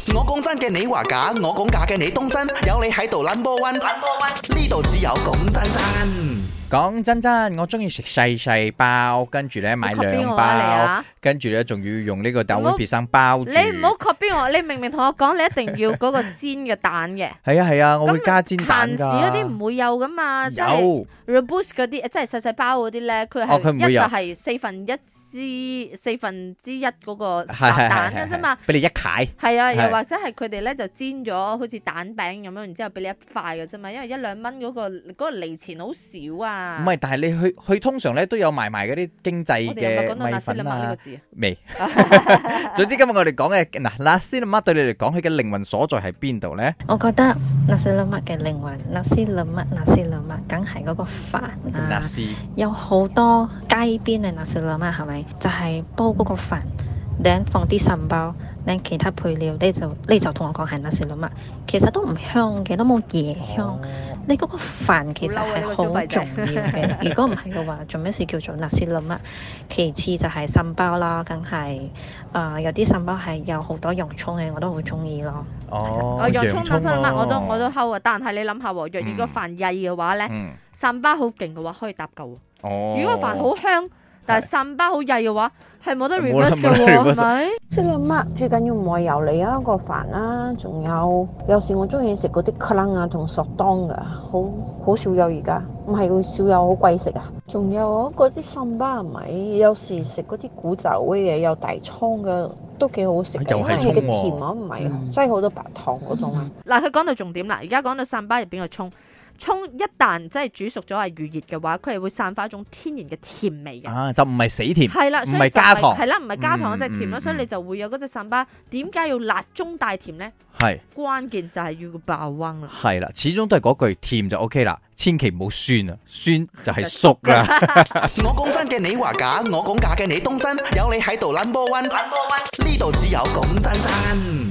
我講真嘅，你話假；我講假嘅，你當真。有你喺度 number one，number one，呢度只有講真真。 講真真，我中意食細細包，跟住咧買2包，跟住咧仲要用呢個豆碗皮生包住。 你唔好 copy 我，你明明同我講你一定要嗰個煎嘅蛋嘅。 係啊係啊，我會加煎蛋㗎。 閒時嗰啲唔會有噶嘛，即係 Rebus 嗰啲，即係細細包嗰啲咧，佢係一就係四分之一嗰個散蛋嘅啫嘛。 俾你一塊。 係啊，又或者係佢哋咧就煎咗好似蛋餅咁樣，然之後俾你一塊嘅啫嘛，因為1-2蚊嗰個利錢好少啊。 唔係，但係你去通常咧都有賣嗰啲經濟嘅米粉啊。未。總之今日我哋講嘅嗱，nasi lemak對你嚟講，佢嘅靈魂所在喺邊度咧？ 我覺得nasi lemak嘅靈魂，nasi lemak，梗係嗰個飯啊。有好多街邊嘅nasi lemak係咪？就係煲嗰個飯，然後放啲腎包，然後其他配料，你就同我講係nasi lemak，其實都唔香嘅，都冇椰香。你嗰個飯其實係好重要嘅，如果唔係嘅話，做咩事叫做nasi lemak？其次就係腎包啦，梗係有啲腎包係有好多洋葱嘅，我都好中意咯。 洋葱nasi lemak我都溝啊，但係你諗下，若然個飯曳嘅話咧，腎包好勁嘅話可以搭夠。如果個飯好香，但係腎包好曳嘅話，係冇得 reverse 嘅喎，係咪 ？nasi lemak最緊要唔係油膩啊個飯啦，仲有時我中意食嗰啲 kelang 啊同索當噶，好少有而家，唔係少有好貴食啊。仲有嗰啲腎包係咪？有時食嗰啲古早味嘅有大葱嘅都幾好食嘅，因為佢嘅甜啊唔係擠好多白糖嗰種啊。 嗱，佢講到重點啦，而家講到腎包入邊嘅葱一旦即係煮熟咗係預熱嘅話，佢係會散發一種天然嘅甜味嘅。 就唔係死甜， 係啦， 唔係加糖， 係啦，唔係加糖嗰隻甜咯，所以你就會有嗰隻腎包。點解要辣中帶甜咧？ 係關鍵就係要個爆溫啦。 係啦，始終都係嗰句甜就 OK 啦，千祈唔好酸啊，酸就係熟啦。 我講真嘅，你話假；我講假嘅，你當真。有你喺度 number one，呢度只有講真真。